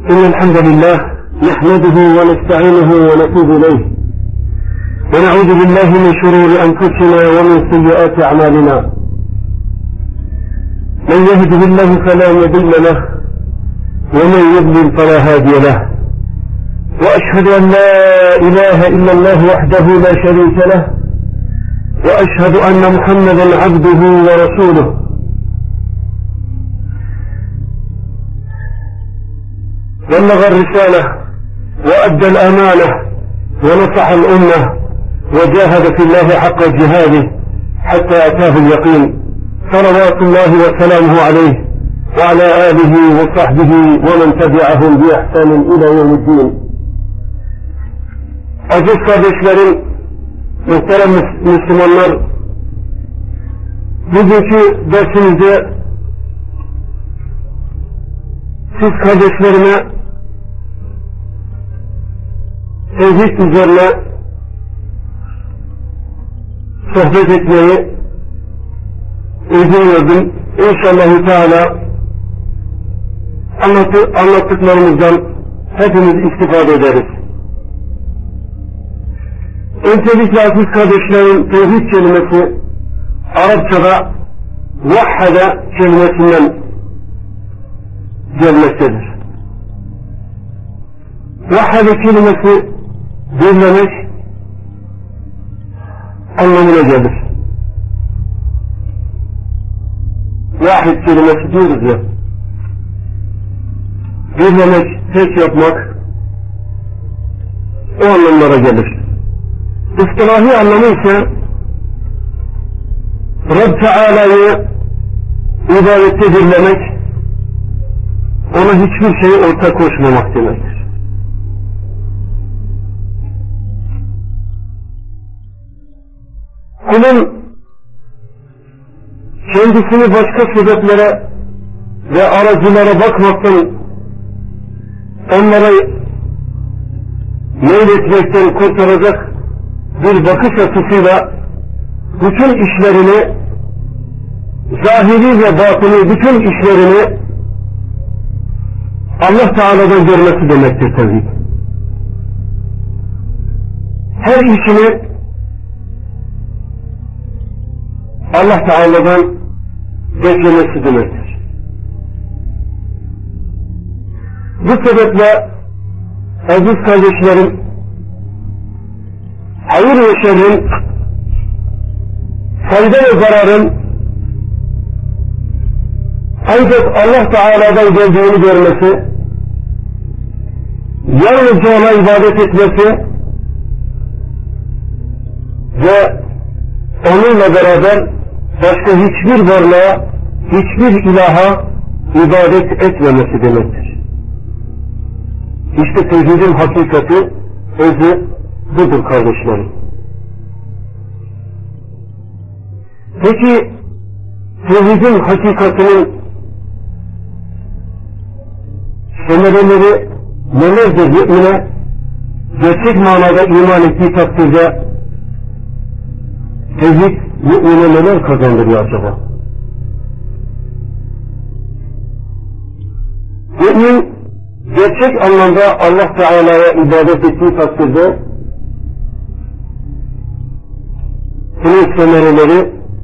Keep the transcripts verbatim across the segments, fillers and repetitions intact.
إن الحمد لله نحمده ونستعينه ونتوب إليه ونعوذ بالله من شرور أنفسنا ومن سيئات أعمالنا. من يهده الله فلا مضل له ومن يضلل فلا هادي له، وأشهد أن لا إله إلا الله وحده لا شريك له، وأشهد أن محمدا عبده ورسوله. بلغ الرسالة وأدى الأمانة ونصح الأمة وجاهد في الله حق جهاده حتى أتاه اليقين، صلوات الله وسلامه عليه وعلى آله وصحبه ومن تبعهم بإحسان إلى يوم الدين. Aziz kardeşlerim, muhterem Müslümanlar, bugünkü dersimizde siz kardeşlerime tevhid üzerine sohbet etmeyi uygun gördüm. İnşallah Teala anlattıklarımızdan hepimiz istifade ederiz. Öncelikle aziz kardeşlerim, tevhid kelimesi Arapçada vahhada kelimesinden gelmektedir. Vahhada kelimesi birlemek anlamına gelir. Vahid kelimesi diyoruz ya, birlemek, tek yapmak, o anlamlara gelir. İstilahi anlamı ise Rab Teala'yı ibadette birlemek, ona hiçbir şeyi ortak koşmamak demektir. Kulun kendisini başka sebeplere ve aracılara bakmaktan, onlara meyletmekten kurtaracak bir bakış açısıyla bütün işlerini, zahiri ve batini bütün işlerini Allah Teala'dan görmesi demektir tevhid. Her işini Allah Teala'dan beklemesi demektir. Bu sebeple aziz kardeşlerim, hayır ve şerrin, fayda ve zararın ancak Allah Teala'dan geldiğini görmesi, yalnızca ona ibadet etmesi ve onunla beraber başka hiçbir varlığa, hiçbir ilaha ibadet etmemesi demektir. İşte tevhidin hakikati, özü budur kardeşlerim. Peki tevhidin hakikatinin semereleri nelerdir mümine? Gerçek manada iman ettiği takdirde tevhid mümine neler kazandırıyor acaba? Mümin gerçek anlamda Allah Teala'ya ibadet ettiği takdirde bunun semereleri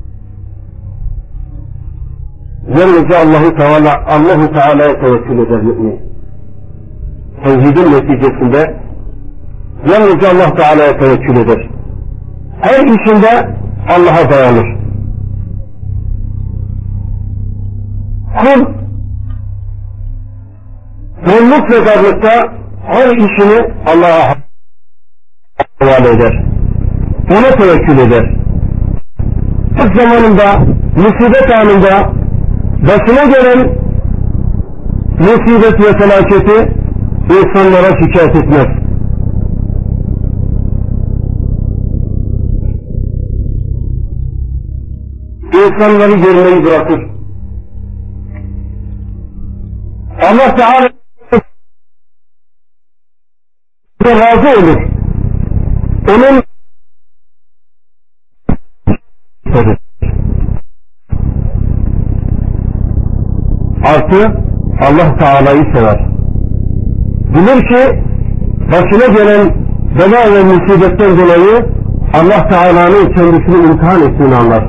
yalnızca Allah-u Teala, Allah-u Teala'ya tevekkül eder mümin. Tevhidin neticesinde yalnızca Allah Teala'ya tevekkül eder. Her işinde Allah'a dayanır. Kul bolluk ve darlıkta her işini Allah'a havale eder. Ona tevekkül eder. Her zamanında, musibet anında başına gelen musibet ve felaketi insanlara şikayet etmez. İnsanları görmeyi bırakır. Allah Teala razı olur. Onun artı Allah Teala'yı sever. bilir ki başına gelen bela ve musibetten dolayı Allah Teala'nın kendisini imtihan ettiğini anlar.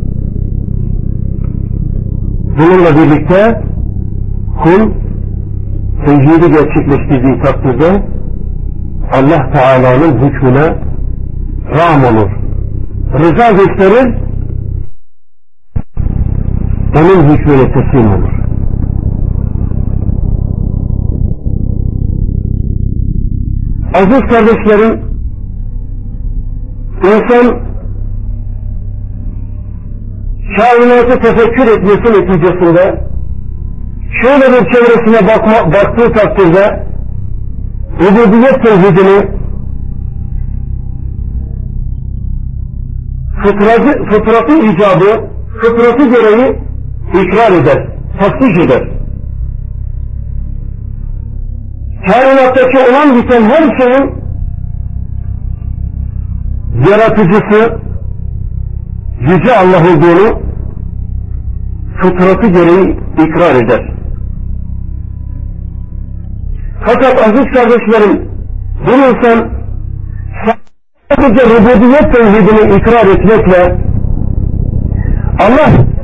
Bununla birlikte kul tevhidi gerçekleştirdiği takdirde Allah Teala'nın hükmüne rağm olur. Rıza gösterir, onun hükmüne teslim olur. Aziz kardeşlerim, insan kainatı tefekkür etmesi neticesinde şöyle bir çevresine bakma, baktığı takdirde rububiyet tevhidini fıtratı, fıtratı icabı, fıtratı gereği ikrar eder, tasdik eder. Kainattaki olan biten her şeyin yaratıcısı Yüce Allah olduğunu fıtratı gereği ikrar eder. Fakat aziz kardeşlerim, bu insan sadece rububiyet tevhidini ikrar etmekle Allah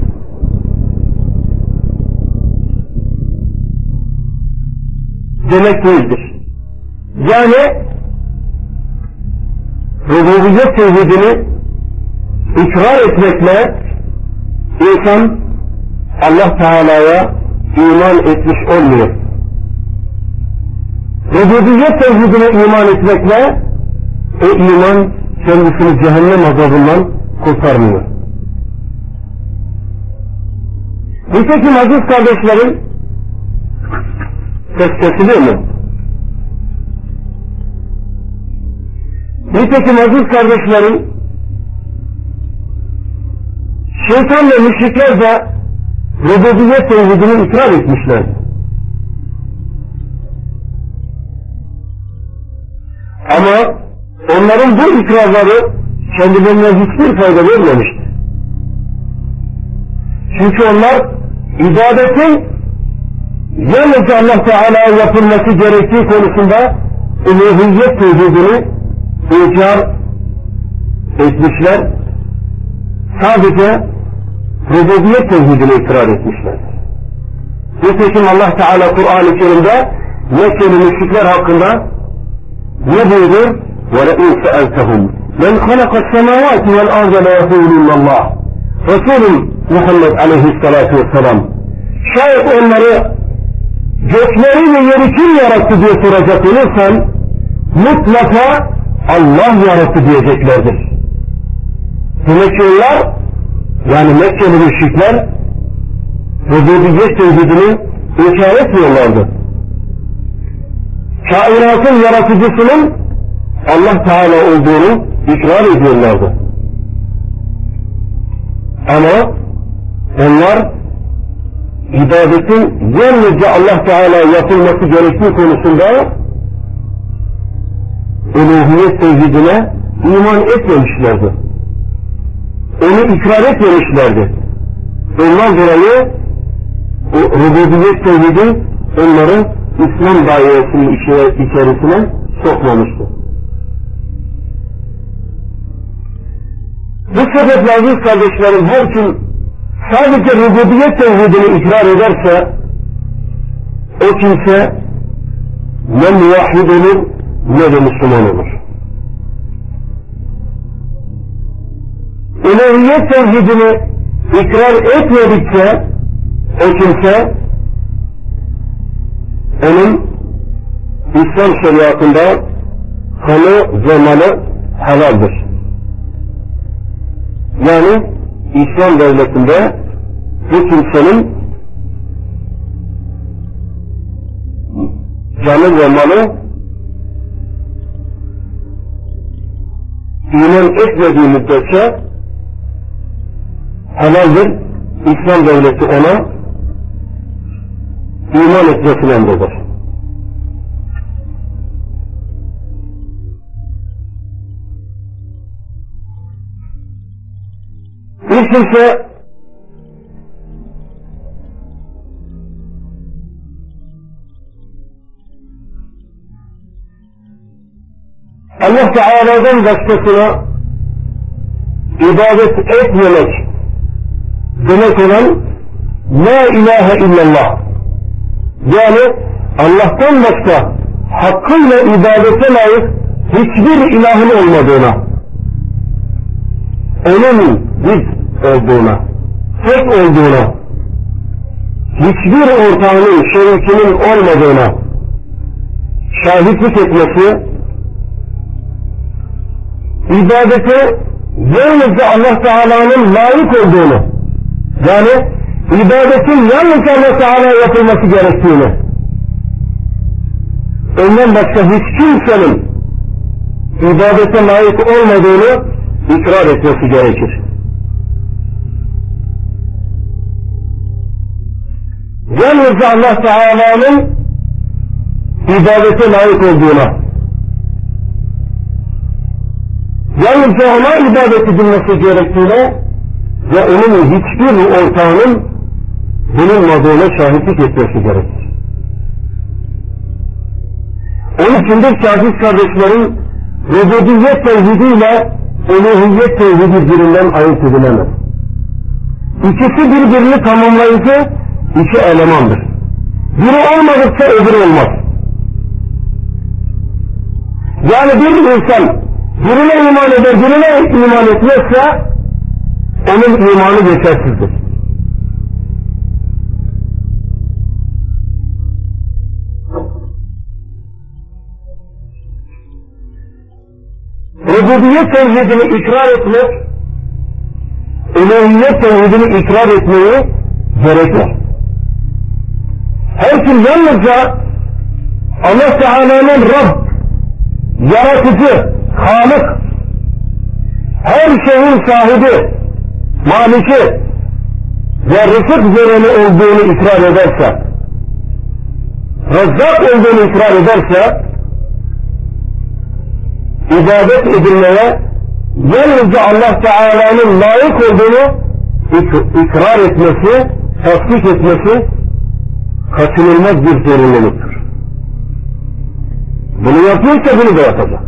demek değildir. Yani rububiyet tevhidini ikrar etmekle insan Allah Teala'ya iman etmiş olmuyor. Rububiyet tevhidine iman etmekle o iman kendisini cehennem azabından kurtarmıyor. Nitekim aziz kardeşlerim, ses kesiliyor mu? Nitekim aziz kardeşlerim, şeytan ve müşrikler de rububiyet tevhidini ikrar etmişler. Ama onların bu ikrarları kendilerine hiçbir fayda vermemişti. Çünkü onlar ibadetin yalnızca Allah Teala'ya yapılması gerektiği konusunda uluhiyet tevhidini inkar etmişler. Sadece rububiyet tevhidini ikrar etmişler. Nitekim Allah Teala Kur'an-ı Kerim'de Mekkeli müşrikler hakkında ne buyurur? وَلَئِنْ سَأَلْتَهُمْ مَنْ خَلَقَ السَّمَاوَاتِ وَالْأَرْضَ لَيَقُولُنَّ اللّٰهِ Resulüm Muhammed Aleyhisselatü Vesselam, şayet onları gökleri ve yeri kim yarattı diye soracak olursan mutlaka Allah yarattı diyeceklerdir. Demek ki onlar, yani Mekkeli müşrikler rububiyet tevhidini inkar etmiyorlardı. Kainatın yaratıcısının Allah Teala olduğunu ikrar ediyorlardı. Ama onlar ibadetin yalnızca Allah Teala yapılması gerektiği konusunda uluhiyet tevhidine iman etmemişlerdi. Onu ikrar etmemişlerdi. Ondan dolayı o rububiyet tevhidi onları İslam dairesinin içerisine sokmamıştı. Bu sebeple aziz kardeşlerim, her kim sadece rububiyet tevhidini ikrar ederse o kimse ne muvahhid olur ne de Müslüman olur. Uluhiyet tevhidini ikrar etmedikçe o kimse onun İslam şeriatında kanı ve malı helaldir. Yani İslam devletinde bu kimsenin canı ve malı iman etmediği müddetçe helaldir. İslam devleti ona iman etmesini emreder. Bir kimse Allah Teala'dan başkasına ibadet etmemek demek olan La ilahe illallah, yani Allah'tan başka hakkıyla ibadete layık hiçbir ilahın olmadığına, onun biz olduğuna, tek olduğuna, hiçbir ortağının, şerikinin olmadığına şahitlik etmesi, ibadete yalnızca Allah Teala'nın layık olduğunu, yani ibadetin yalnızca Allah Teala yapılması gerektiğini, ondan başka hiç kimsenin ibadete layık olmadığını ikrar etmesi gerekir. Yalnızca Allah Teala'nın ibadete layık olduğuna, yalnızca ona ibadet edilmesi gerektiğine ve onun hiçbir ortağının bulunmadığına şahitlik etmesi gerekir. Onun içindir ki aziz kardeşlerim, rububiyet tevhidiyle uluhiyet tevhidi birbirinden ayırt edilemez. İkisi birbirini tamamlayıcı iki elemandır. Biri olmadıkça öbürü olmaz. Yani bir insan birine iman eder, birine iman etmezse onun imanı geçersizdir. Rububiyet tevhidini ikrar etmek, uluhiyet tevhidini ikrar etmeyi gerekir. Her kim yalnızca Allah Teala'nın Rabb, yaratıcı, Halık, her şeyin sahibi, maliki ve rızık vereni olduğunu ikrar ederse, Rezzak olduğunu ikrar ederse, ibadet edilmeye yalnızca Allah Teala'nın layık olduğunu ikrar etmesi, tasdik etmesi kaçınılmaz bir zorunluluktur. Bunu yapıyorsa bunu da yapacak.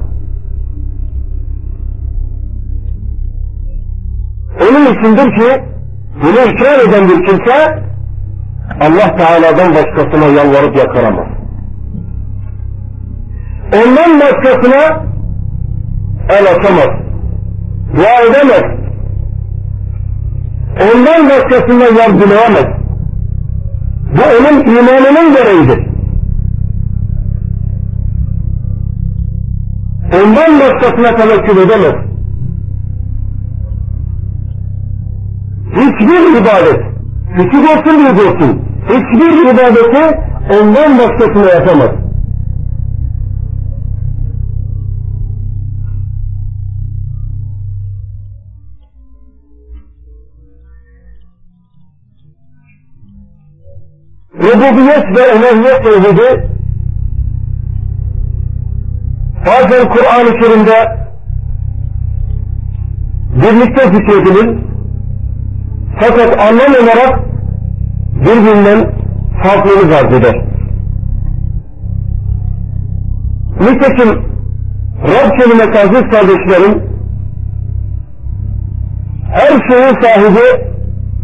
Onun içindir ki bunu ikrar eden bir kimse Allah Teala'dan başkasına yalvarıp yakaramaz. Ondan başkasına el atamaz, dua edemez, ondan başkasına yargılayamaz. Bu onun imanının gereğidir. Ondan başkasına tevekkül edemez. Hiçbir ibadet, küçük olsun büyük olsun, hiçbir ibadeti ondan başkasına yapamaz. Rububiyet ve uluhiyet tevhidi bazen Kur'an-ı Kerim'de birlikte zikredilir, fakat anlam olarak birbirinden farklılık arz eder. Nitekim Rab kelimesi aziz kardeşlerim, her şeyin sahibi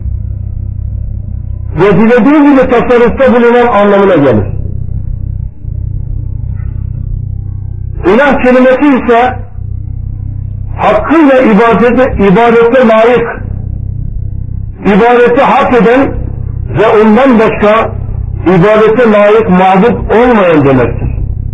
ve dilediği gibi tasarrufta bulunan anlamına gelir. İlah kelimesi ise hakkıyla ibadete, ibadete layık, ibadeti hak eden ve ondan başka ibadete layık mabut olmayan demektir.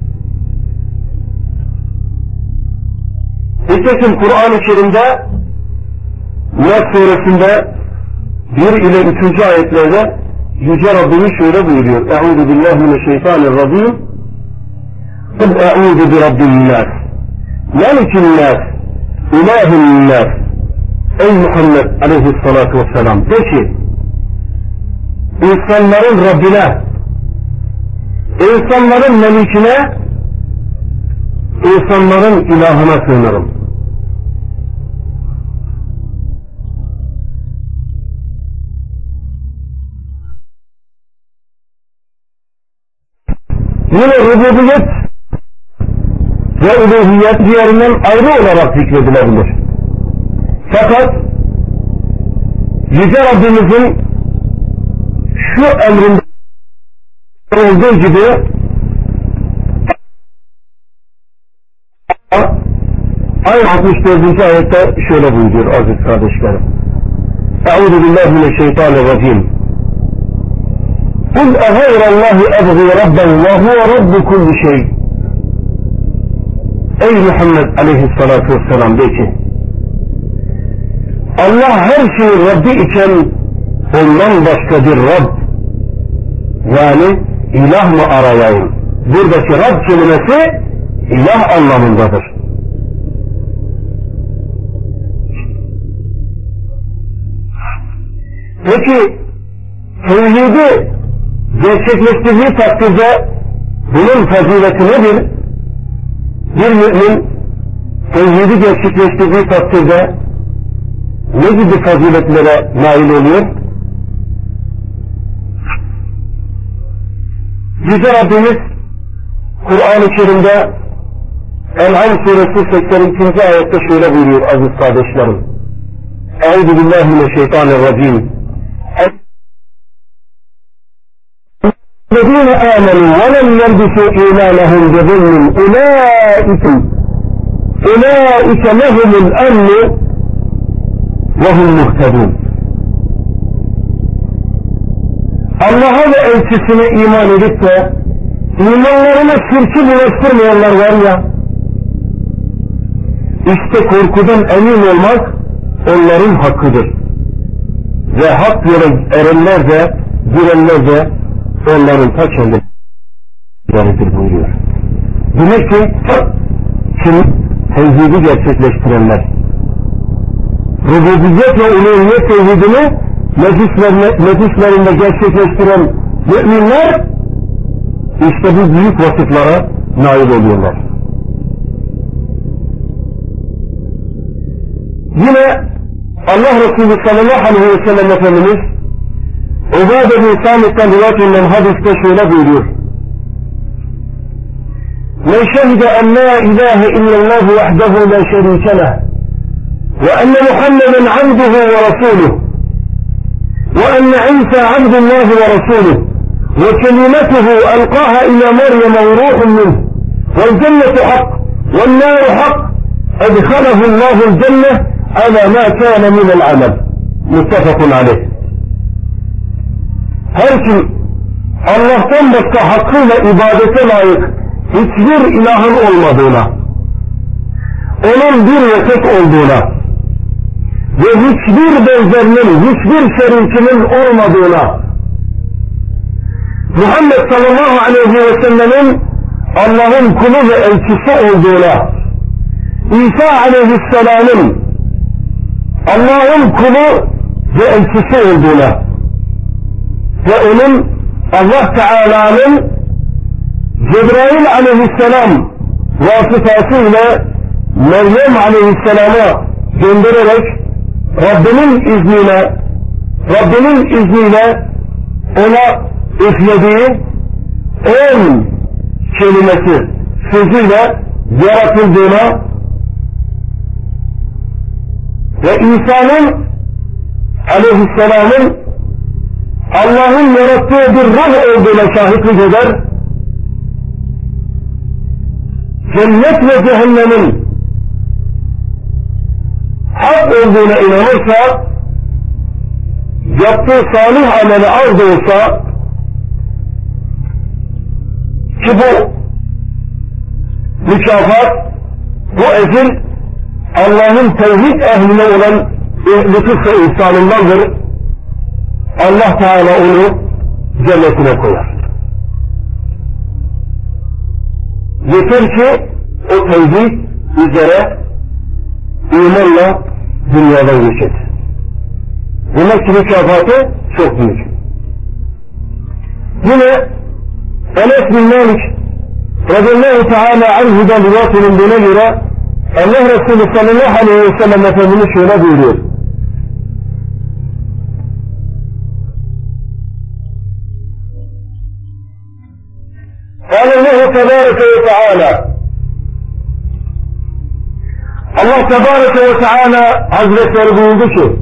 Nitekim Kur'an-ı Kerim'de Nas suresinde bir ile üçüncü ayetlerde Yüce Rabbimiz şöyle buyuruyor: Eûzu billahi mineşşeytanirracim. Kul eûzu bi rabbin-nâs, melikin-nâs, ilâhin-nâs. Ey Muhammed aleyhissalâtu vesselam, de ki, insanların Rabbine, insanların melikine, insanların ilahına sığınırım. Yine rububiyet ve uluhiyet diğerinden ayrı olarak zikredilebilir. Fakat Yüce Rabbimizin şu emrinde olduğu gibi aynı altmış dördüncü ayette şöyle buyuruyor aziz kardeşlerim. Euzu billahi mineşşeytanirracim. Kul egayrallahi ebği rabben ve huve rabbu kulli şey. Ey Muhammed aleyhissalatu vesselam de ki, Allah her şeyin Rabbi iken ondan başka bir Rab, yani ilah mı arayayım? Buradaki Rab kelimesi ilah anlamındadır. Peki tevhidi gerçekleştirdiği takdirde bunun fazileti nedir? Bir mümin tevhidi gerçekleştirdiği takdirde ne gibi faziletlere nail oluyor? Yüce Rabbimiz Kur'an-ı Kerim'de En'am suresi seksen ikinci ayette şöyle buyuruyor aziz kardeşlerim. Euzu billahi mineşşeytanirracim. الذين آمنوا ولم يلبسوا إيمانهم بظلم أولئك أولئك لهم الأمن وهم مهتدون. Allah'a ve elçisine iman edip de imanlarına şirki bulaştırmayanlar var ya, işte korkudan emin olmak onların hakkıdır. Ve hak yere erenler de girenler de onların ta kendileridir buyuruyor. Demek ki kim tevhidi gerçekleştirenler, rububiyet ve uluhiyet tevhidini meclislerinde gerçekleştiren müminler işte bu büyük vasıflara nail oluyorlar. Yine Allah Resulü sallallahu aleyhi ve sellem Efendimiz Ubade bin Samit'ten rivayet edilen hadiste şöyle buyuruyor. Men şehide en la ilahe illallah vahdehu la şerike leh ve enne Muhammeden abduhu ve rasuluh ve enne İsa abdullah ve rasuluh ve kelimatuhu elqaha ila Meryem ve ruhun minh vel cennetu hak vel nâru hak edhalahu Allahul cenneh ala ma kâne minel amel. Muttefakun aleyh. Her kim Allah'tan başka hakkıyla ibadete layık hiçbir ilahın olmadığına, onun bir ve tek olduğuna ve hiçbir benzerinin, hiçbir şerikinin olmadığına, Muhammed sallallahu aleyhi ve sellemin Allah'ın kulu ve elçisi olduğuna, İsa aleyhisselamın Allah'ın kulu ve elçisi olduğuna ve onun Allah Teala'nın Cebrail aleyhisselam vasıtasıyla Meryem aleyhisselama göndererek Rabbinin izniyle Rabbinin izniyle ona üflediği on kelimesi sözüyle yaratıldığına ve İsa'nın aleyhisselamın Allah'ın yarattığı bir ruh olduğuna şahitlik eder, cennet ve cehennemin hak olduğuna inanırsa, yaptığı salih ameli az da olsa, ki bu mükafat, bu ecir Allah'ın tevhid ehline olan lütuf ve ihsanındandır. Allah Teala onu cennetine koyar. Yeter ki o tevhid üzere imanla dünyadan geçer. Demek ki mükafatı çok büyük. Yine Enes bin Malik radıyallahu teala anhu'dan rivayet edildiğine göre Allah Resulü sallallahu aleyhi ve sellem Efendimiz şöyle buyuruyor. قال الله تبارك وتعالى Allah Tebareke ve Teala Hazretleri buyurdu ki,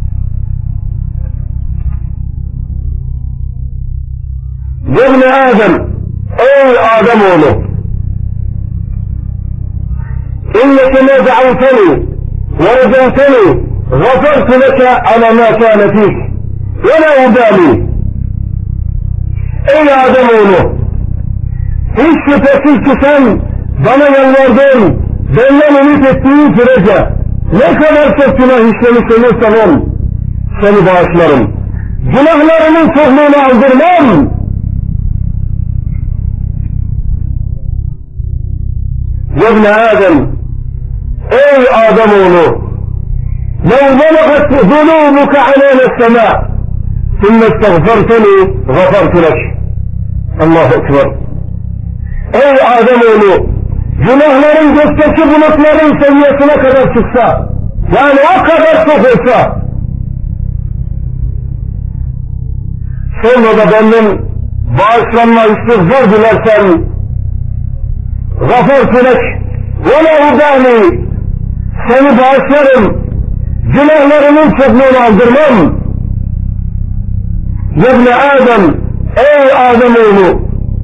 Yevne Adem, ey Ademoğlu, inneke ne da'avteni ve recevteni gafartu leke ala ma kâne fîk ve la ubâli. Ey Ademoğlu, hiç şüphesiz ki sen bana yalvardın, benden ümit ettiğin sürece ne kadar çok günah işlemiş olursan ol, seni bağışlarım. Günahlarının çokluğunu aldırmam. Yevne Adem, ey Ademoğlu, لو بلغت ذنوبك عنان السماء ثم استغفرتني غفرت لك. الله Ekber. Ey Ademoğlu, günahların gökteki bulutların seviyesine kadar çıksa, yani o kadar çok olsa, sonra da benden bağışlanma istiğfar dilersen, غَفَرْتُ لَكْ وَلَا اُبَانِي, seni bağışlarım, günahlarının çokluğunu aldırmam. Yevne Adem, ey Ademoğlu,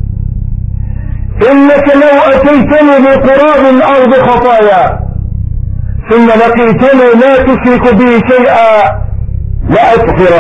إنك لو أتيتني بقراب الأرض خطايا ثم لقيتني لا تشرك بي شيئا لأغفره.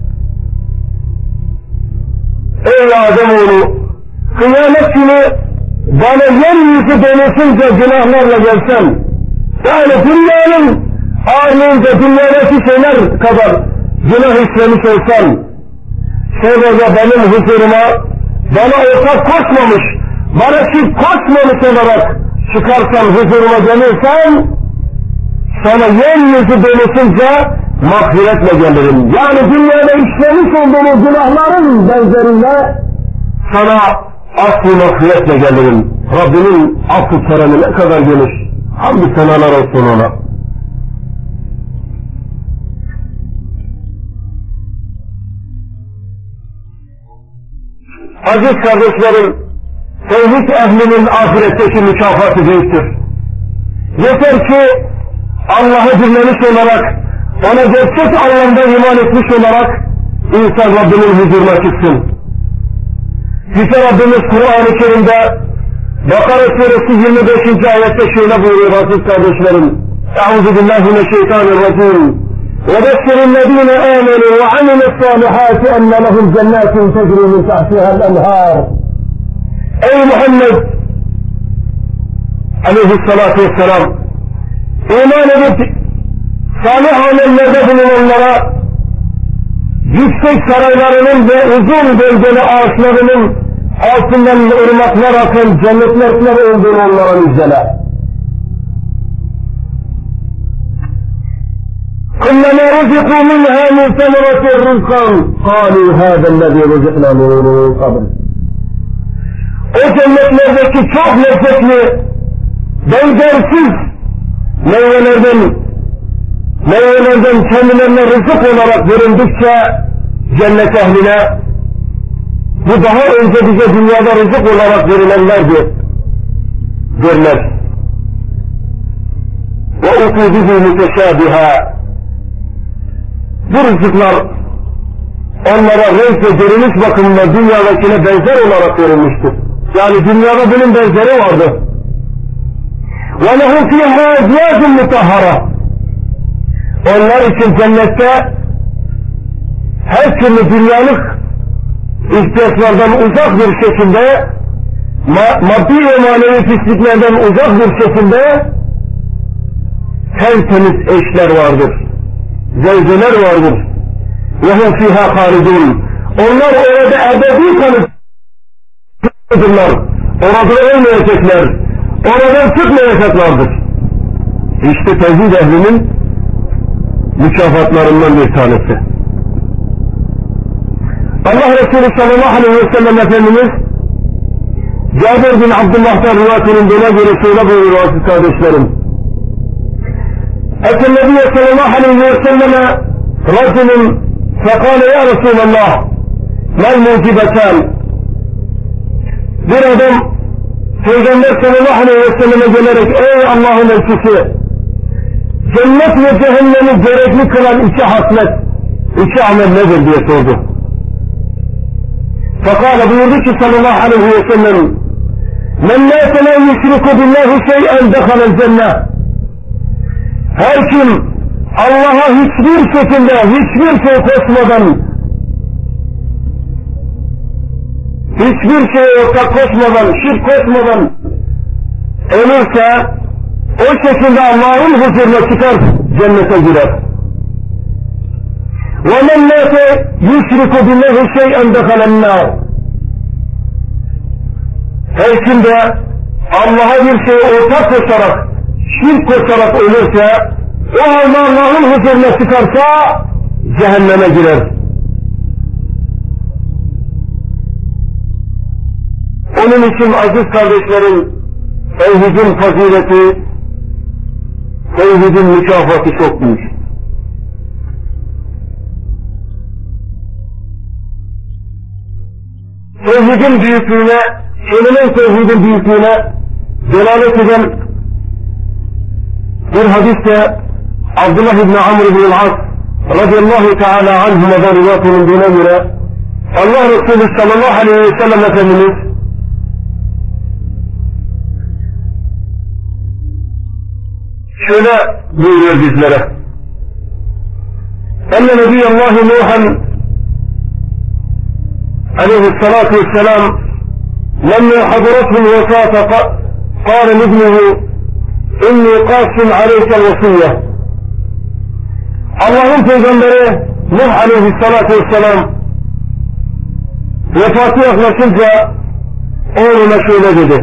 Ey Ademoğlu, kıyamet günü bana yeryüzü dönüşünce günahlarla gelsen, yani dünyanın ağırlığınca dünyadaki şeyler kadar günah işlemiş olsan, sonra da benim huzuruma bana ortak koşmamış, bana şirk koşmamış olarak çıkarsan, huzuruma gelirsen, sana yeryüzü dönüşünce mağfiretle gelirim. Yani dünyada işlemiş olduğun günahların benzerinde sana aslı mağfiretle gelirim. Rabbinin affı keremi ne kadar geniş. Hamdü senalar olsun ona. Aziz kardeşlerim, tevhid ehlinin ahiretteki mükafatı büyüktür. Yeter ki Allah'ı dinlemiş olarak, ona gerçek anlamda iman etmiş olarak insan Rabbinin huzuruna çıksın. Yüce Rabbimiz Kur'an-ı Kerim'de Bakara Suresi yirmi beşinci ayette şöyle buyuruyor aziz kardeşlerim. Euzubillahimineşşeytanirracim. وَبَشِّرِ الَّذ۪ينَ آمَنُوا وَعَمِلُوا الصَّالِحَاتِ أَنَّ لَهُمْ جَنَّاتٍ تَجْرِي مِنْ تَحْتِهَا الْأَنْهَارُ. Ey Muhammed aleyhissalatu vesselam, iman edip salih amellerde bulunanlara yüksek saraylarının ve uzun gölgeli ağaçlarının altından ırmaklar akan cennetler olduğunu onlara müjdele. كُلَّمَا رُزِقُوا مِنْهَا مِنْ ثَمَرَةٍ رِزْقًا قَالُوا هَذَا الَّذِي رُزِقْنَا مِنْ قَبْلِ. O cennetlerdeki çok lezzetli, benzersiz meyvelerden, meyvelerden kendilerine rızık olarak verildikçe cennet ehline, bu daha önce bize dünyada rızık olarak verilenlerdi derler. وَاُتُوا بِهِ مُتَشَابِهًا. Bu rızıklar onlara renk ve görünüş bakımından dünyadakine benzer olarak verilmiştir. Yani dünyada bunun benzeri vardı. وَلَهُمْ فِيهَا اَزْوَاجٌ مُطَهَّرَةٌ. Onlar için cennette her türlü dünyalık ihtiyaçlardan uzak bir şekilde, maddi ve manevi pisliklerden uzak bir şekilde tertemiz eşler vardır, zevceler vardır. وَهُمْ فِيهَا خَالِدُونَ. Onlar orada ebedi kalıcıdırlar. Orada ölmeyecekler, oradan çıkmayacaklardır. İşte tevhid ehlinin mükafatlarından bir tanesi. Allah Resulü sallallahu aleyhi ve sellem Efendimiz Cabir bin Abdullah'tan rivayetinin böyle bir şöyle buyuruyor aziz kardeşlerim. Eten Nebiye sallallahu aleyhi ve selleme racülün fekâle ya Resulallah mel mucibetan. Bir adam Peygamber sallallahu aleyhi ve selleme gelerek ey Allah'ın elçisi cennet ve cehennemi gerekli kılan iki haslet, iki amel nedir diye sordu. Fakale buyurdu ki sallallahu aleyhi ve sellem, men mâte la yüşriku billahi şey'en dekhalel cennet. Her kim Allah'a hiçbir şekilde, hiçbir şey koşmadan, hiçbir şeye ortak koşmadan, şirk koşmadan ölürse, o şekilde Allah'ın huzuruna çıkar, cennete girer. وَمَنْ مَاتَ يُشْرِكُ بِاللّٰهِ شَيْئًا دَخَلَ النَّارِ. Her kim de Allah'a bir şeye ortak koşarak, şirk koşarak ölürse, o halde Allah'ın huzuruna çıkarsa cehenneme girer. Onun için aziz kardeşlerim, tevhidin fazileti, tevhidin mükafatı çok büyük. Tevhidin büyüklüğüne, elimin tevhidin büyüklüğüne delalet eden bir hadiste Abdullah İbni Amr İbni Al-As radıyallahu teala anhuma'dan rivayet edildiğine göre Allah Resulü sallallahu aleyhi ve sellem Efendimiz şöyle buyuruyor bizlere: enne Nebiyallahi Nuhan aleyhissalatu vesselam lemma hadaratul vefata qâle libnihi inni qâsin aleykel vasiyye. Allah'ın peygamberi Nuh aleyhissalatu vesselam vefatı yaklaşınca oğluna şöyle dedi: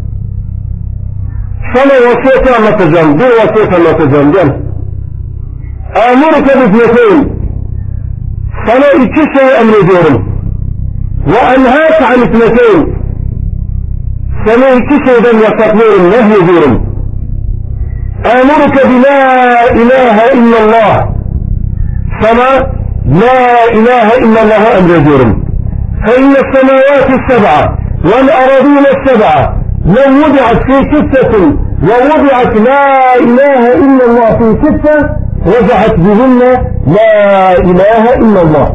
sana vasiyeti anlatacağım, bir vasiyet anlatacağım, gel. Âmurke bizneteyn, sana iki şey emrediyorum. Ve enhâke an itneteyn, seni iki şeyden yasaklıyorum, nehyediyorum. Âmurke bi lâ ilâhe illallah, sana lâ ilâhe illallah'ı emrediyorum. Fe inne semâvâti seb'a vel aradîne seb'a لو وضعت في كفة ووضعت لا إله إلا الله في كفة وضعت بهن لا إله إلا الله.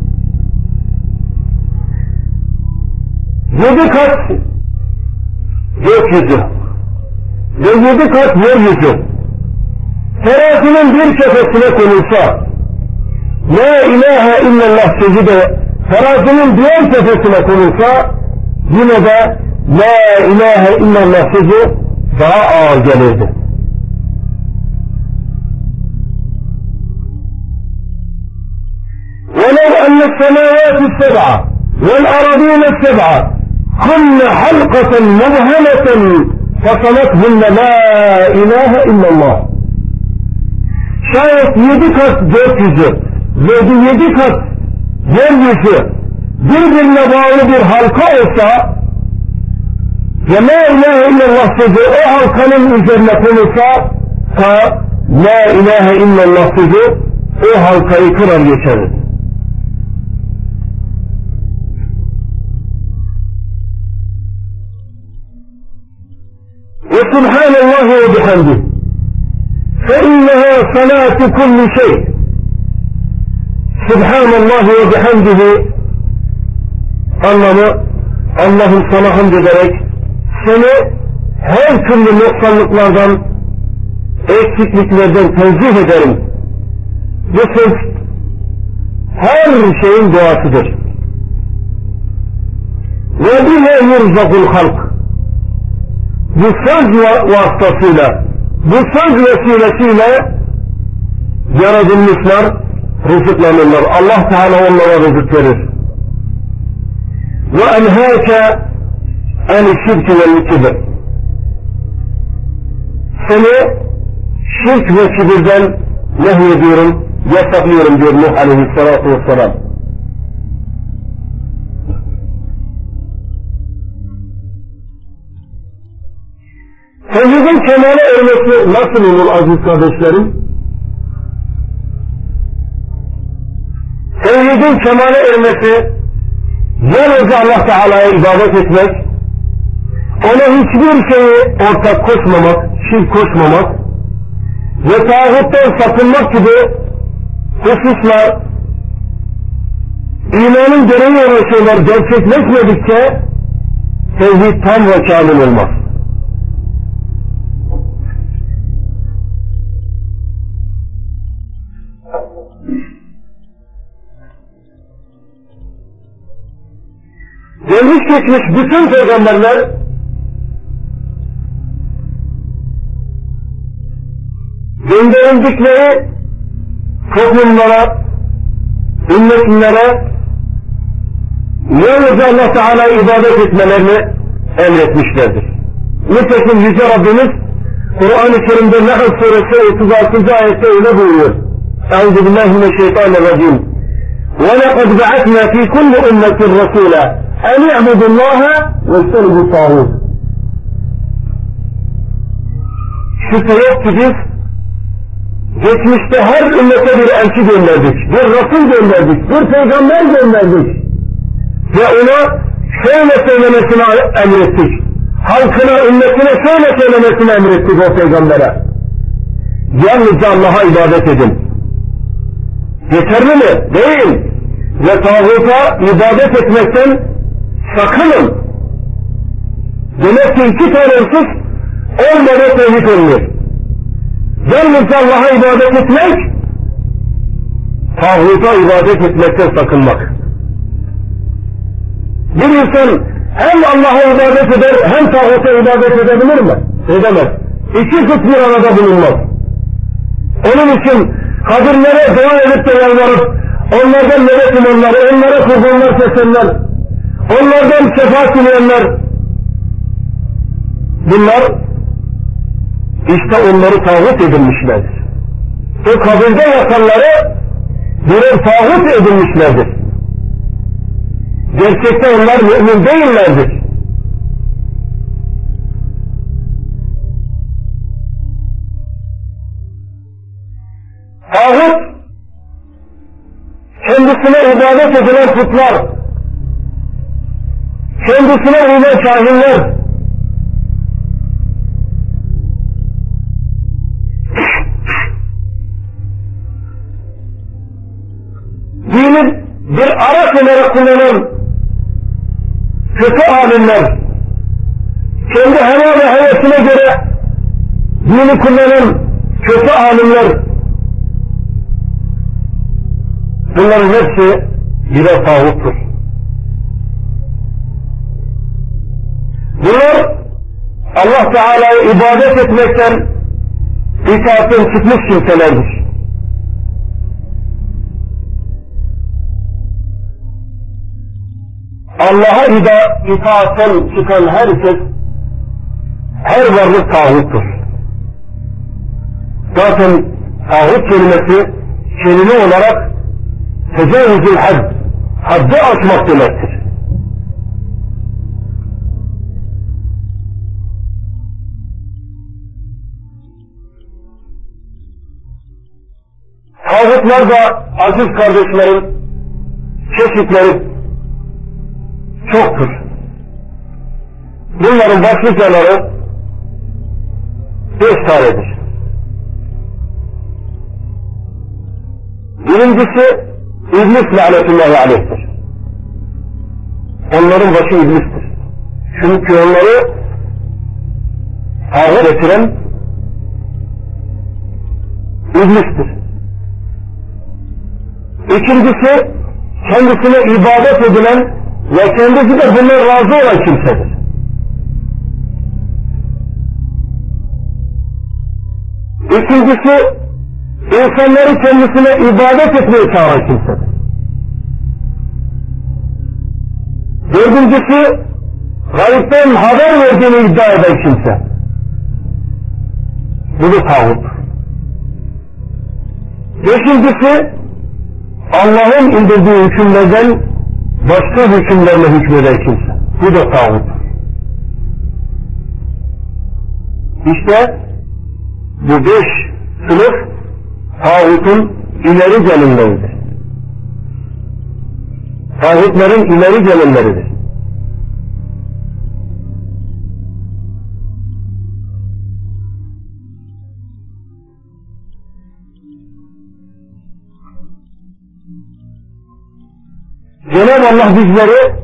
Yedi kat gökyüzü ve yedi kat yeryüzü terazinin bir kefesine konulsa, La ilahe illallah sözü de terazinin diğer kefesine konulsa, yine de La ilahe illallah sözü daha ağır gelirdi. وَلَوْ أَنَّ السَّمَاوَاتِ السَّبْعَ وَالْأَرَضِينَ السَّبْعَ كُنَّ حَلْقَةً مُبْهَمَةً فَصَلَتْهُنَّ لَا إِلَٰهَ إِلَّا اللّٰهِ. Şayet yedi kat gökyüzü ve yedi kat yeryüzü birbirine bağlı bir halka olsa ve La ilahe illallah sözü o halkanın üzerine konulsa, ta La ilahe illallah sözü o halkayı kırar geçer. Ve subhanallah ve bihamdih fe inneha salatu kulli şey. Subhanallah ve bihamdihi anlamı Allah'ın sana hamd ederek seni her türlü noksanlıklardan, eksikliklerden tenzih ederim. Bu söz her şeyin duasıdır. Ve bihe yurzakul halk. Bu söz vasıtasıyla, bu söz vesilesiyle yaratılmışlar, rızıklanırlar. Allah Teala onlara rızık verir. Ve enhâke en şirk ve kibir. Seni şirk ve kibirden nehyediyorum, yasaklıyorum diyor Nuh aleyhissalatu vesselam. Tevhidin kemale ermesi nasıl olur aziz kardeşlerim? Tevhidin kemale ermesi yalnızca Allah Teala'ya ibadet etmek, ona hiçbir şeyi ortak koşmamak, şirk koşmamak ve tağuttan sakınmak gibi hususlar, imanın gereği olan şeyler gerçekleşmedikçe tevhid tam ve kamil olmaz. Gelmiş geçmiş bütün peygamberler gönderildikleri toplumlara, ümmetlere yalnızca Allah Teala'ya ibadet etmelerini emretmişlerdir. Nitekim Yüce Rabbimiz Kur'an-ı Kerim'de Nahl Suresi otuz altıncı ayette öyle buyuruyor. Euzubillahimineşşeytanirracim. وَلَقَدْ بَعَثْنَا فِي كُلِّ أُمَّةٍ رَسُولًا اَنْ يَعْبُدُوا اللّٰهَ وَاجْتَنِبُوا الطَّاغُوتَ. Şüphe yok ki biz geçmişte her ümmete bir elçi gönderdik, bir Resul gönderdik, bir peygamber gönderdik ve ona şöyle söylemesini emrettik. Halkına, ümmetine şöyle söylemesini emrettik o peygambere. Yalnızca Allah'a ibadet edin. Yeterli mi? Değil. Ve tağuta ibadet etmekten sakının. Demek ki iki tane husus olmadan tevhid olmuyor. Yalnızca Allah'a ibadet etmek, tağuta ibadet etmekten sakınmak. Bir insan hem Allah'a ibadet eder, hem tağuta ibadet edebilir mi? Edemez. İki zıt bir arada bulunmaz. Onun için kabirlere dua edip de yalvarıp, onlardan medet umanlar, onlara kurbanlar kesenler, onlardan şefaat dileyenler, bunlar işte onları tağut edinmişlerdir. O kabirde yatanları birer tağut edinmişlerdir. Gerçekte onlar mümin değillerdir. Tağut, kendisine ibadet edilen putlar, kendisine uyulan kahinler, dini bir araç olarak kullanan kötü alimler, kendi heva ve hevesine göre dini kullanan kötü alimler, bunların hepsi birer tağuttur. Bunlar Allah Teala'ya ibadet etmekten, itaatten çıkmış kimselerdir. Allah'a itaatten çıkan herkes, her varlık tağuttur. Zaten tağut kelimesi kelime olarak tecavüzül had, haddi aşmak demektir. Tağutlar da aziz kardeşlerim, çeşitleri çoktur. Bunların başlıcaları beş tanedir. Birincisi İblis la'netullahi aleyhtir. Onların başı iblistir. Çünkü onları tağut getiren iblistir. İkincisi kendisine ibadet edilen ve kendisi de bundan razı olan kimsedir. İkincisi, insanları kendisine ibadet etmeye çağıran kimsedir. Dördüncüsü, gayipten haber verdiğini iddia eden kimse. Bu da tağut. Beşincisi, Allah'ın indirdiği hükümlerden başka hükümlerle hükmeden kimse. Bu da tağut. İşte bu beş sınıf tağutun ileri gelenleridir. Tağutların ileri gelenleridir. Cenab-ı Allah bizleri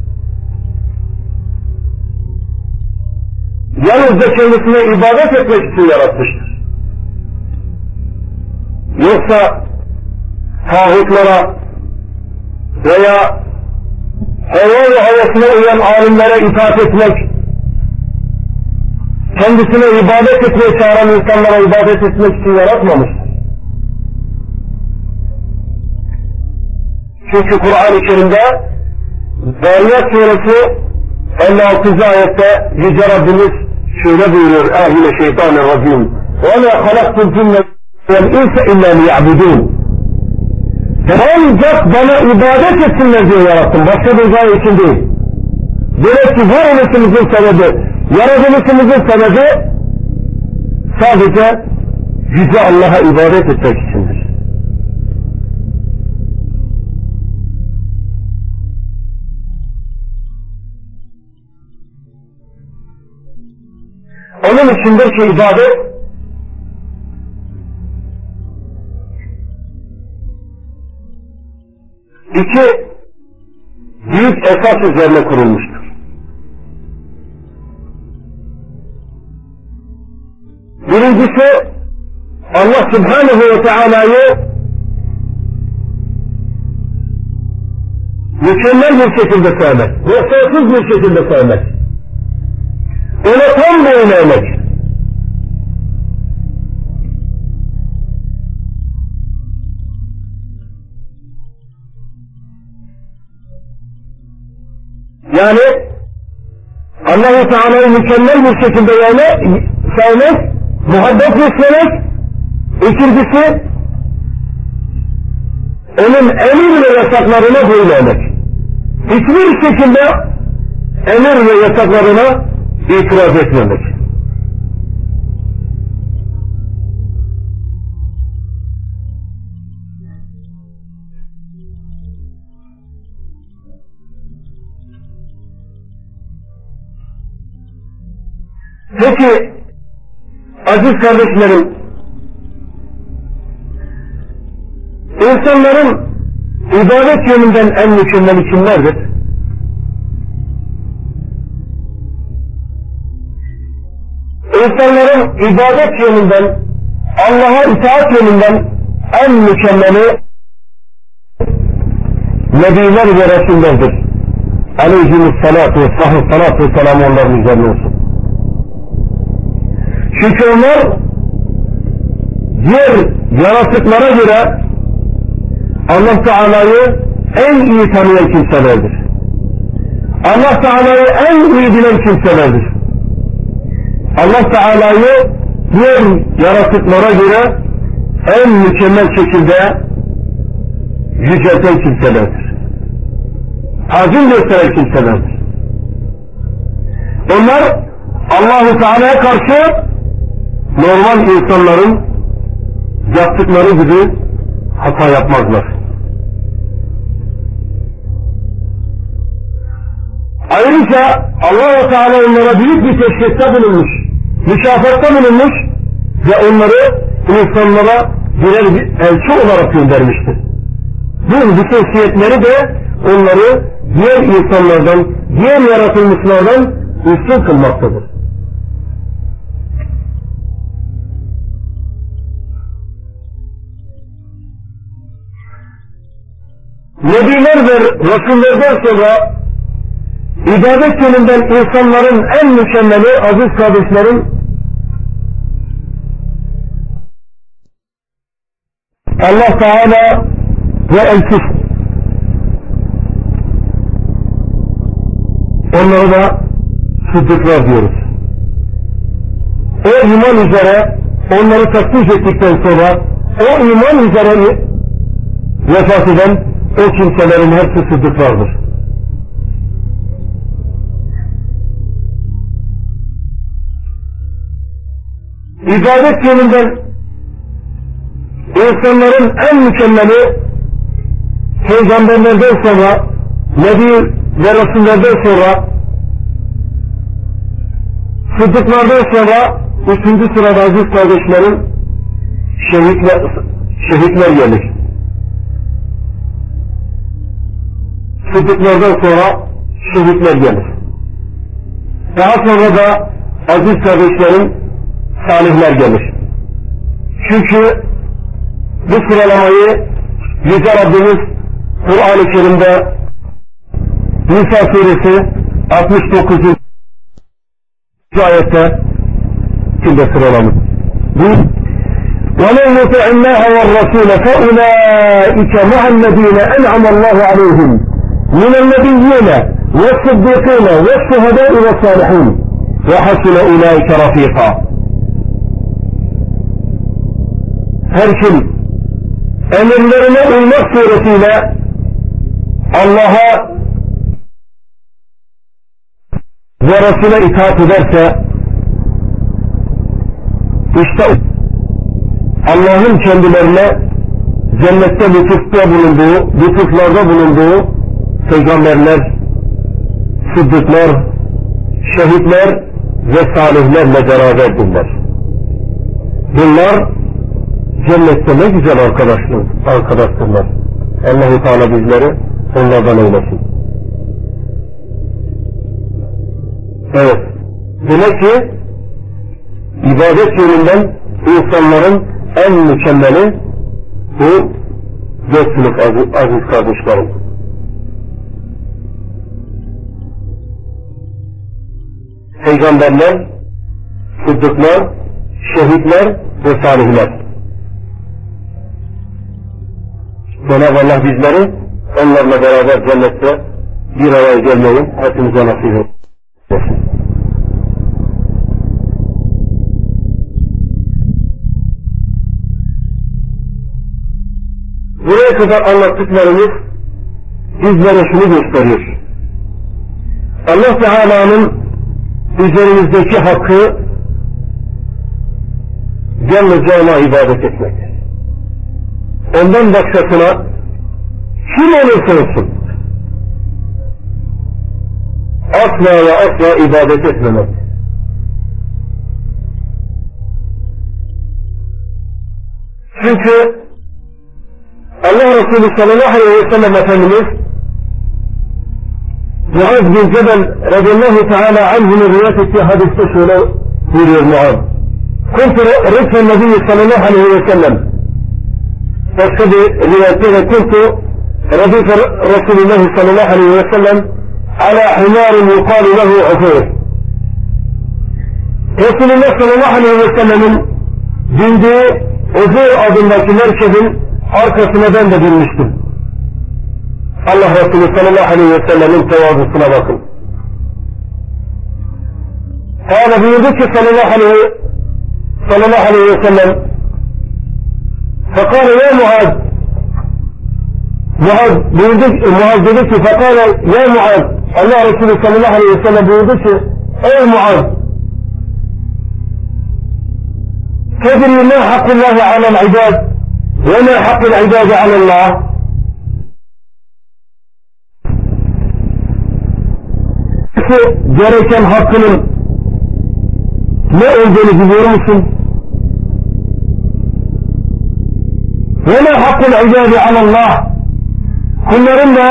yalnızca kendisine ibadet etmek için yaratmıştır. Yoksa tağutlara veya heva ve havasına uyan alimlere itaat etmek, kendisine ibadet etmeye çağıran insanlara ibadet etmek için yaratmamıştır. Çünkü Kur'an-ı Kerim'de Zariyat Suresi elli altıncı ayette Yüce Rabbimiz şöyle buyuruyor: Euzubillahimineşşeytanirracim. وَمَا خَلَقْتُ الْجِنَّ وَالْاِنْسَ اِلَّا لِيَعْبُدُونَ. Ancak bana ibadet etsinler diye yarattım. Başka bir gaye için değil. Demek ki varoluşumuzun sebebi, yaratılışımızın sebebi sadece Yüce Allah'a ibadet etmek içindir. Onun içindir ki ibadet iki büyük esas üzerine kurulmuştur. Birincisi, Allah Subhanahu ve Teala'yı mükemmel bir şekilde sevmek, vesayetsiz bir şekilde sevmek, ona tam boyun eğmek. Yani Allah-u Teala'yı mükemmel bir şekilde yani sevmek, muhabbet beslemek. İkincisi, onun emir ve yasaklarına boyun eğmek. Hiçbir şekilde emir ve yasaklarına itiraz etmemek. Peki aziz kardeşlerim, insanların ibadet yönünden en mükemmeli kimlerdir? İnsanların ibadet yönünden, Allah'a itaat yönünden en mükemmeli Nebiler ve Resullerdir. Aleyhissalatu vesselam, salatu vesselam onların üzerine olsun. Çünkü onlar diğer yaratıklara göre Allah Teala'yı en iyi tanıyan kimselerdir. Allah Teala'yı en iyi bilen kimselerdir. Allah Teala'yı diğer yaratıklara göre en mükemmel şekilde yücelten kimselerdir. Tacım gösteren kimselerdir. Onlar Allah-u Teala'ya karşı normal insanların yaptıkları gibi hata yapmazlar. Ayrıca Allah-u Teala onlara büyük bir teşvikte bulunmuş, mükafatta bulunmuş ve onları insanlara birer bir elçi olarak göndermiştir. Bu hususiyetleri de onları diğer insanlardan, diğer yaratılmışlardan üstün kılmaktadır. Nebiler ve Resullerden sonra ibadet yönünden insanların en mükemmeli aziz kardeşlerim Allah Teala ve elçi. Onlara da sıddıklar diyoruz. O iman üzere onları takdir ettikten sonra o iman üzere vefat eden o kimselerin hepsi sıddıklardır. İbadet yönünden insanların en mükemmeli peygamberlerden sonra, Nebi ve Resullerden sonra, sıddıklardan sonra üçüncü sırada aziz kardeşlerim şehitler, şehitler gelir. sıddıklardan sonra şehitler gelir. Daha sonra da aziz kardeşlerim salihler gelir. Çünkü bu sıralamayı Yüce Rabbimiz Kur'an-ı Kerim'de Nisa suresi altmış dokuzuncu ayette kimde sıralamış. وَمَنْ يُطِعِ اللّٰهَ وَالرَّسُولَ فَأُولَٰئِكَ مَعَ الَّذ۪ينَ أَنْعَمَ اللّٰهُ عَلَيْهِمْ مِنَ النَّبِيِّينَ وَالصِّدِّيقِينَ وَالشُّهَدَاءِ وَالصَّالِحِينَ وَحَسُنَ أُولَٰئِكَ رَفِيقًا. Her kim emirlerine uymak suretiyle Allah'a ve Resul'e itaat ederse, işte Allah'ın kendilerine cennette lütufta bulunduğu, lütuflarda bulunduğu peygamberler, sıddıklar, şehitler ve salihlerle beraberdirler. Bunlar cennette ne güzel arkadaştırlar. Allah-u Teala bizleri onlardan eylesin. Evet. Demek ki ibadet yönünden insanların en mükemmeli bu dört sınıf aziz, aziz kardeşlerim. Peygamberler, sıddıklar, şehitler ve salihler. Cenab-ı Allah bizleri onlarla beraber cennette bir araya gelmeyi hepimize nasip etsin. Buraya kadar anlattıklarımız bizlere şunu gösteriyor. Allah Teala'nın üzerimizdeki hakkı yalnızca ona ibadet etmek. Ondan başkasına kim olursa olsun asla ve asla ibadet etmemek. Çünkü Allah Resulü sallallahu aleyhi ve sellem Efendimiz Muaz bin Cebel radıyallahu teala anh'ın rivayet ettiği hadiste şöyle buyuruyor Muaz. Kuntu rıfı Nebi sallallahu aleyhi ve sellem. Başka bir rivayette de kuntu Radif Resulullah sallallahu aleyhi ve sellem ala himarin yukalu lehu Ufeyr. Resulullah sallallahu aleyhi ve sellemin bindiği Ufeyr adındaki merkebin arkasına ben de binmiştim. Allah Resulü sallallahu aleyhi ve sellemin tevazusuna bakın. Kâle buyurdu ki sallallahu aleyhi, sallallahu aleyhi ve sellem فقال يا معاذ Muaz buyurdu, Muaz dedi ki فقال يا معاذ Allah Resulü sallallahu aleyhi ve sellem buyurdu ki ey Muaz تدري ما حق الله على العباد وما حق العباد على الله gereken hakkının ne olduğunu biliyor musun? Ve ne hakkul ibâdi alallah? Kulların da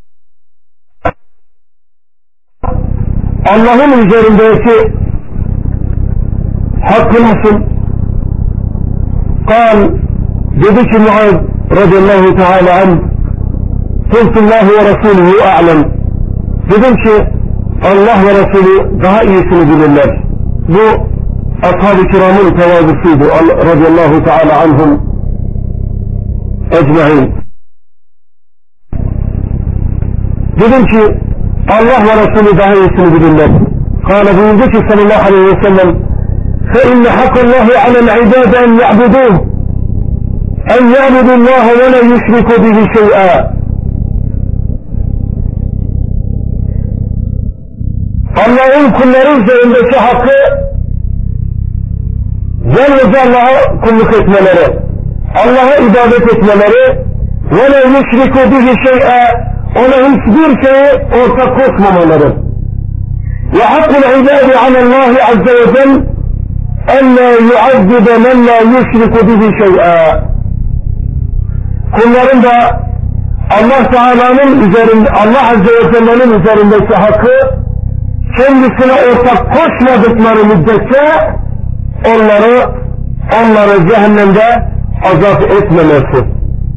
Allah'ın üzerindeki hakkı nasıl? Kal, dedi ki Muaz radıyallahu teala anh, Kultullahu ve Resulühü a'lem. Dedim ki Allah ve Resulü daha iyisini bilirler. Bu ashab-ı kiramın tevazusuydu radıyallahu teala anhum ecmaîn. Dedim ki Allah ve Resulü daha iyisini bilirler. Kâle buyurdu ki sallallahu aleyhi ve sellem فَاِنَّ حَقَّ اللّٰهِ عَلَى الْعِبَادِ اَنْ يَعْبُدُوهُ اَنْ يَعْبُدُ اللّٰهَ وَلَا يُشْرِكُ بِهِ شَيْئًا. Allah'ın kulları üzerindeki hakkı yalnızca Allah'a kulluk etmeleri, Allah'a ibadet etmeleri ve la yüşriku bihi şey'e, ona hiçbir şeyi ortak koşmamaları. Ve hakkul ibadi alallahi azze ve cel en la yuazzibe men la yüşriku bihi şey'e. Kulların da Allah Teala'nın üzerinde, Allah Azze ve Celle'nin üzerindeki hakkı kendisine ortak koşmadıkları müddetçe onları onları cehennemde azap etmemesi.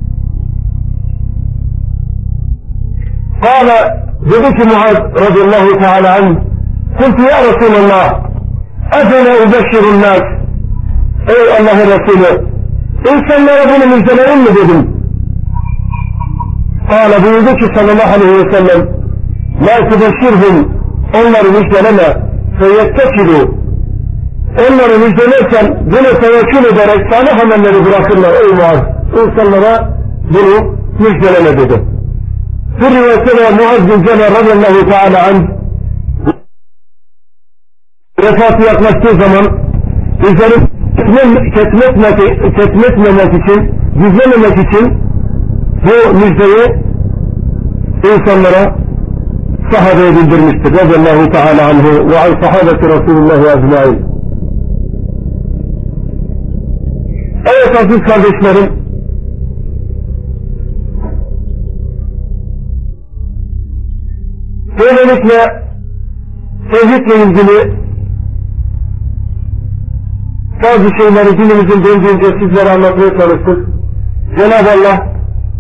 Kâle, dedi ki Muaz radıyallahu teâlâ anh, kultu ya Resulallah, efene ubeşşirun nâs, ey Allah'ın Resulü, insanlara bunu müjdeleyin mi dedim. Kâle, buyurdu ki sallallahu aleyhi ve sellem, lâ tubeşşirhum, onları müjdeleme, feyettekidû, onları müjdelerken bunu tevekkül ederek salih amelleri bırakırlar ey Muaz, insanlara bunu müjdeleme dedi. Bir rivayette de Muaz bin Cebel radıyallahu teâlâ anh vefatı yaklaştığı zaman üzeri ketmetmemek için, gizlememek için bu müjdeyi insanlara sahabeye bildirmiştir. Radıyallahu teâlâ anhu ve an sahabeti Resulullah ecmaîn. Evet aziz kardeşlerim, böylelikle tevhidle ilgili bazı şeyleri dinimizin döndüğünce sizlere anlatmaya çalıştık. Cenab-ı Allah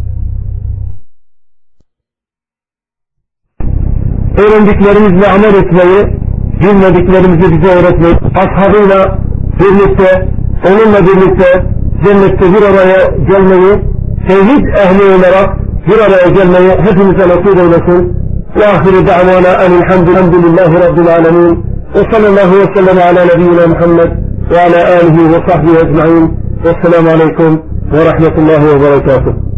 öğrendiklerimizle amel etmeyi, bilmediklerimizi bize öğretmeyi, ashabıyla birlikte, onunla birlikte cennette bir araya gelmeyi, tevhid ehli olarak bir araya gelmeyi hepimize nasip eylesin. Ve ahire da'vana enilhamdülillahi rabbil alemin. Ve sallallahu ve sellem ala nebiyyina Muhammed ve ala alihi ve sahbihi ecma'in. Vesselamu aleyküm ve rahmetullahi ve berekatuhu.